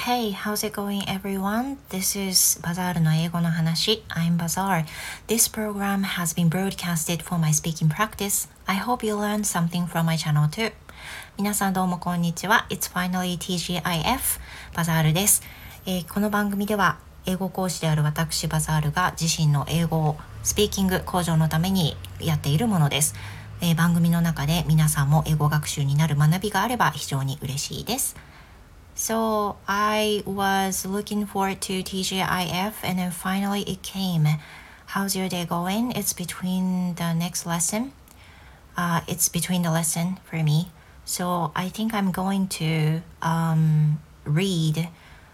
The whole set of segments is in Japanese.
Hey, how's it going everyone? This is Bazaar の英語の話 I'm Bazaar. This program has been broadcasted for my speaking practice. I hope you learned something from my channel too. 皆さんどうもこんにちは。It's finally TGIF バザールです。この番組では英語講師である私バザールが自身の英語をスピーキング向上のためにやっているものです。番組の中で皆さんも英語学習になる学びがあれば非常に嬉しいです。So I was looking forward to TGIF and then finally it came. How's your day going? It's between the next lesson. It's between the lesson for me. So I think I'm going to read.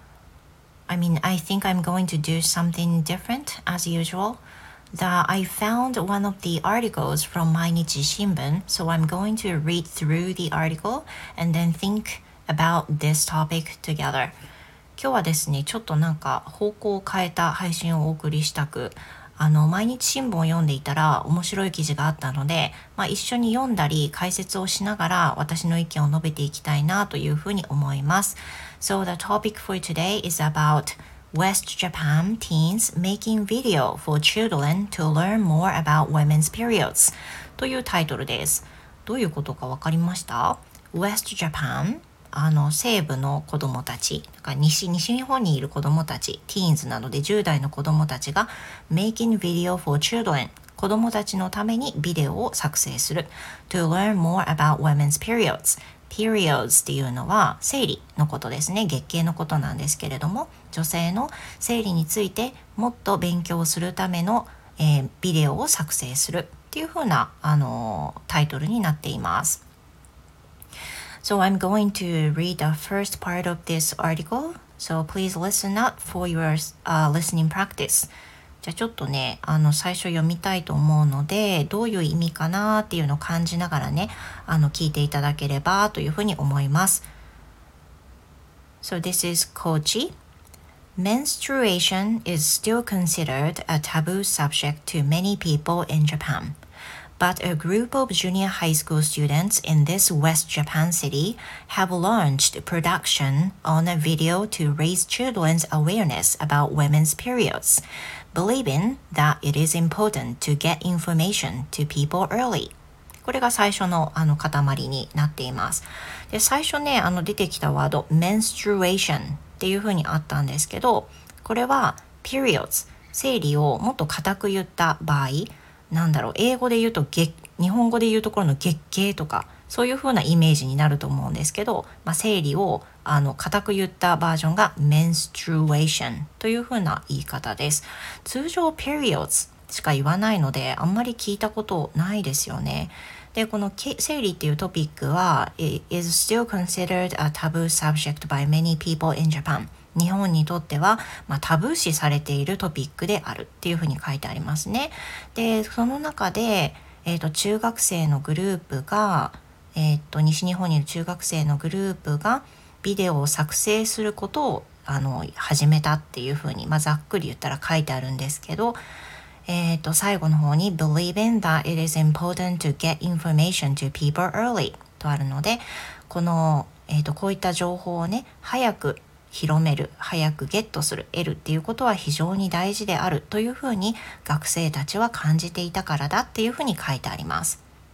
I think I'm going to do something different as usual. I found one of the articles from Mainichi Shimbun. So I'm going to read through the article and then think about this topic together. 今日はですね、ちょっと方向を変えた配信をお送りしたく、毎日新聞を読んでいたら面白い記事があったので、一緒に読んだり解説をしながら私の意見を述べていきたいなというふうに思います。So the topic for today is about West Japan teens making video for children to learn more about women's periods というタイトルです。どういうことかわかりました？ West Japan西部の子どもたち、西日本にいる子どもたち、ティーンズなどで10代の子どもたちが making video for children 子どもたちのためにビデオを作成する to learn more about women's periods periods っていうのは生理のことですね。月経のことなんですけれども、女性の生理についてもっと勉強するための、ビデオを作成するっていう風なタイトルになっています。So I'm going to read the first part of this article. So please listen up for your listening practice. じゃあちょっとね、最初読みたいと思うので、どういう意味かなっていうのを感じながらね、聞いていただければというふうに思います。So this is Kochi. Menstruation is still considered a taboo subject to many people in Japan.But a group of junior high school students in this West Japan city have launched production on a video to raise children's awareness about women's periods, believing that it is important to get information to people early. これが最初の塊になっています。で、最初ね、出てきたワード menstruation っていう風にあったんですけど、これは periods 生理をもっと固く言った場合、英語で言うと日本語で言うところの月経とかそういう風なイメージになると思うんですけど、生理を固く言ったバージョンが menstruation という風な言い方です。通常 periods しか言わないのであんまり聞いたことないですよね。で、この生理っていうトピックは is still considered a taboo subject by many people in Japan。日本にとっては、タブー視されているトピックであるっていうふうに書いてありますね。で、その中で、中学生のグループが、西日本にいる中学生のグループがビデオを作成することを始めたっていうふうに、ざっくり言ったら書いてあるんですけど、最後の方に believing that it is important to get information to people early とあるので、この、こういった情報をね、早く広める、早くゲットする、得るっていうことは非常に大事であるというふうに学生たちは感じていたからだっていうふうに書いてあります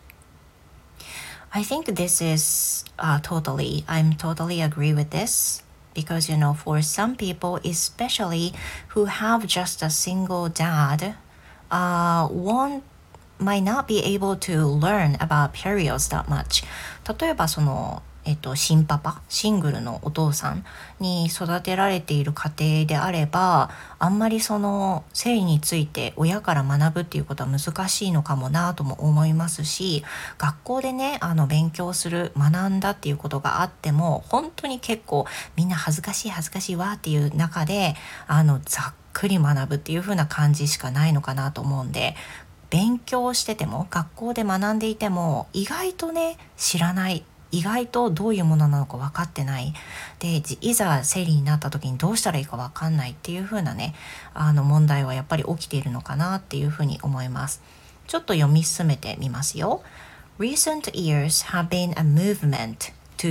。I think this is I'm totally agree with this because for some people, especially who have just a single dad, one might not be able to learn about periods that much. 例えば新パパ、シングルのお父さんに育てられている家庭であれば、あんまり生理について親から学ぶっていうことは難しいのかもなとも思いますし、学校でね、勉強する、学んだっていうことがあっても、本当に結構みんな恥ずかしいわっていう中で、ざっくり学ぶっていう風な感じしかないのかなと思うんで、勉強してても、学校で学んでいても、意外とね、知らない。意外とどういうものなのか分かってない。で、いざ生理になった時にどうしたらいいか分かんないっていう風なね、問題はやっぱり起きているのかなっていう風に思います。ちょっと読み進めてみますよ。Recent years have been a movement to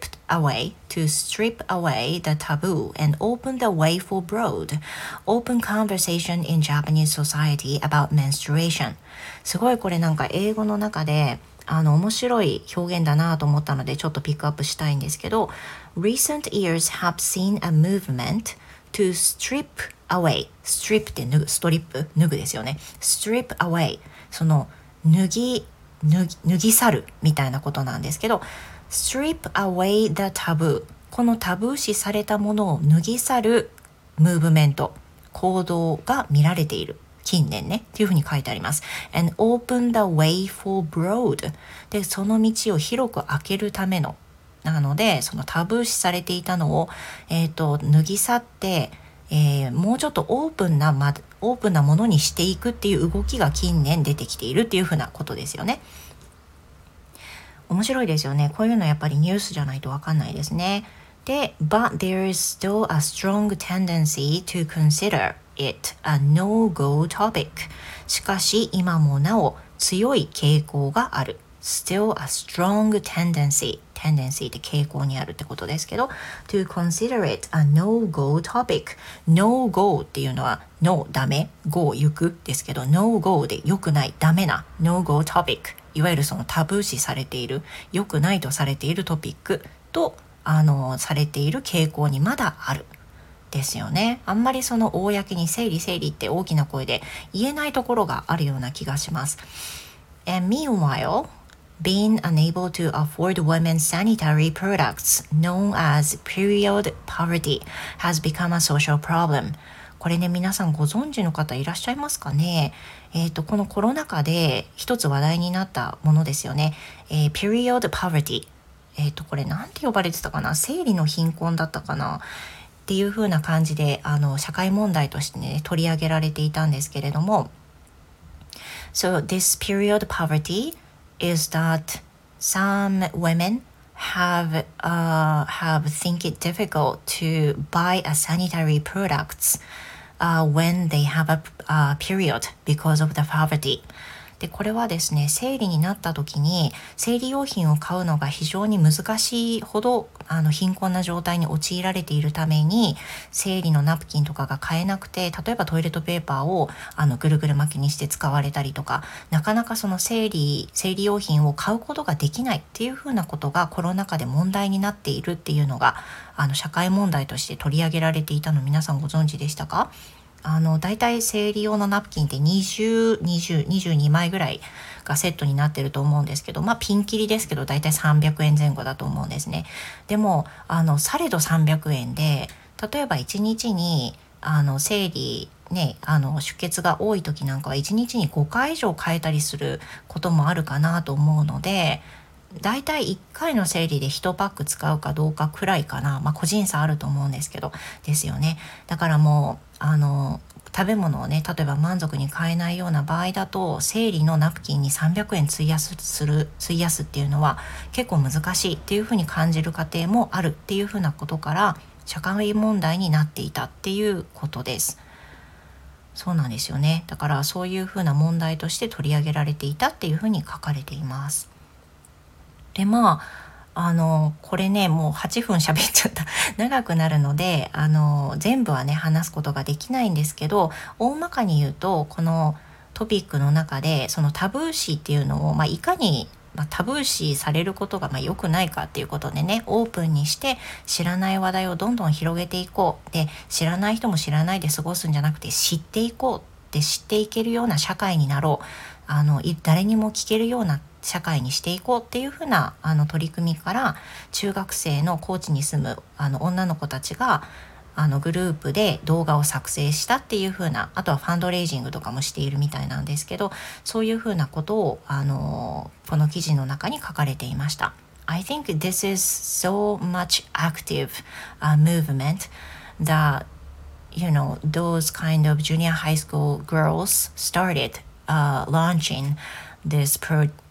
strip away the taboo and open the way for broad, open conversation in Japanese society about menstruation. すごいこれなんか英語の中で面白い表現だなと思ったのでちょっとピックアップしたいんですけど Recent years have seen a movement to strip away strip って脱ぐストリップ脱ぐですよね strip away その脱ぎ去るみたいなことなんですけど strip away the taboo このタブー視されたものを脱ぎ去るムーブメント行動が見られている近年ねっていうふうに書いてあります and open the way for broad でその道を広く開けるためのなのでそのタブー視されていたのを、脱ぎ去って、もうちょっとオープンなものにしていくっていう動きが近年出てきているっていうふうなことですよね面白いですよねこういうのやっぱりニュースじゃないと分かんないですねで But there is still a strong tendency to consider it a no-go topic しかし今もなお強い傾向がある Still a strong tendency って傾向にあるってことですけど To consider it a no-go topic No-go っていうのは No ダメ Go 行くですけど No-go で良くないダメな No-go topicいわゆるそのタブー視されている良くないとされているトピックとされている傾向にまだあるですよねあんまりその公に生理って大きな声で言えないところがあるような気がします And meanwhile being unable to afford women's sanitary products known as period poverty has become a social problem これね皆さんご存知の方いらっしゃいますかねこのコロナ禍で一つ話題になったものですよね、period povertyこれなんて呼ばれてたかな生理の貧困だったかなっていう風な感じで社会問題としてね取り上げられていたんですけれども So this period poverty is that some women have think it difficult to buy a sanitary products、when they have a period because of the povertyでこれはですね生理になった時に生理用品を買うのが非常に難しいほど貧困な状態に陥られているために生理のナプキンとかが買えなくて例えばトイレットペーパーをぐるぐる巻きにして使われたりとかなかなかその生理用品を買うことができないっていうふうなことがコロナ禍で問題になっているっていうのが社会問題として取り上げられていたの皆さんご存知でしたかだいたい生理用のナプキンって22枚ぐらいがセットになってると思うんですけどピンキリですけどだいたい300円前後だと思うんですねでもされど300円で例えば1日に生理ね出血が多い時なんかは1日に5回以上変えたりすることもあるかなと思うのでだいたい1回の生理で1パック使うかどうかくらいかな個人差あると思うんですけどですよねだからもう食べ物をね例えば満足に買えないような場合だと生理のナプキンに300円費やすっていうのは結構難しいっていうふうに感じる家庭もあるっていうふうなことから社会問題になっていたっていうことですそうなんですよねだからそういうふうな問題として取り上げられていたっていうふうに書かれていますでこれねもう8分喋っちゃった長くなるので全部はね話すことができないんですけど大まかに言うとこのトピックの中でそのタブー視っていうのを、いかに、タブー視されることが良くないかっていうことでねオープンにして知らない話題をどんどん広げていこうで知らない人も知らないで過ごすんじゃなくて知っていこうって知っていけるような社会になろう誰にも聞けるような社会にしていこうっていうふうな取り組みから中学生の高知に住む女の子たちがグループで動画を作成したっていうふうなあとはファンドレイジングとかもしているみたいなんですけどそういうふうなことをこの記事の中に書かれていました。I think this is so much active、movement that those kind of junior high school girls started、launching this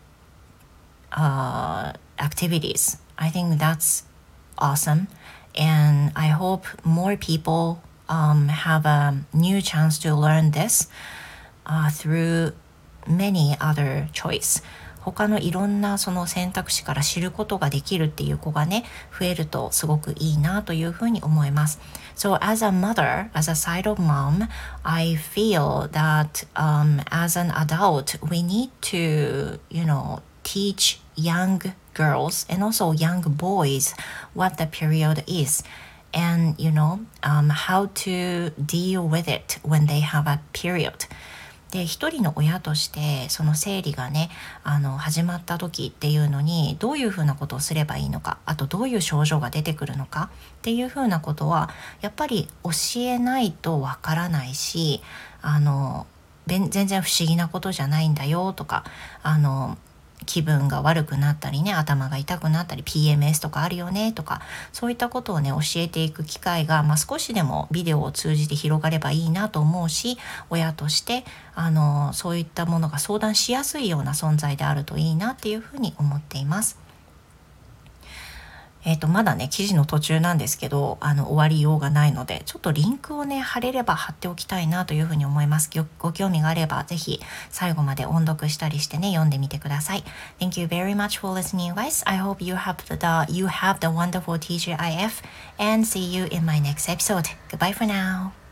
activities. I think that's awesome, and I hope more people have a new chance to learn this through many other choice. 他のいろんなその選択肢から知ることができるっていう子がね増えるとすごくいいなというふうに思います。So as a mother, as a side of mom, I feel that as an adult we need to, teach young girls and also young boys what the period is, and how to deal with it when they have a period. で一人の親としてその生理がね始まった時っていうのにどういうふうなことをすればいいのか、あとどういう症状が出てくるのかっていうふうなことはやっぱり教えないとわからないし、全然不思議なことじゃないんだよとか、気分が悪くなったりね、頭が痛くなったり PMS とかあるよねとか、そういったことをね教えていく機会が、少しでもビデオを通じて広がればいいなと思うし、親としてそういったものが相談しやすいような存在であるといいなっていうふうに思っています。まだね記事の途中なんですけど終わりようがないので、ちょっとリンクをね貼れれば貼っておきたいなというふうに思います。ご興味があればぜひ最後まで音読したりしてね読んでみてください。 Thank you very much for listening, guys. I hope you have the wonderful TGIF and see you in my next episode. Goodbye for now.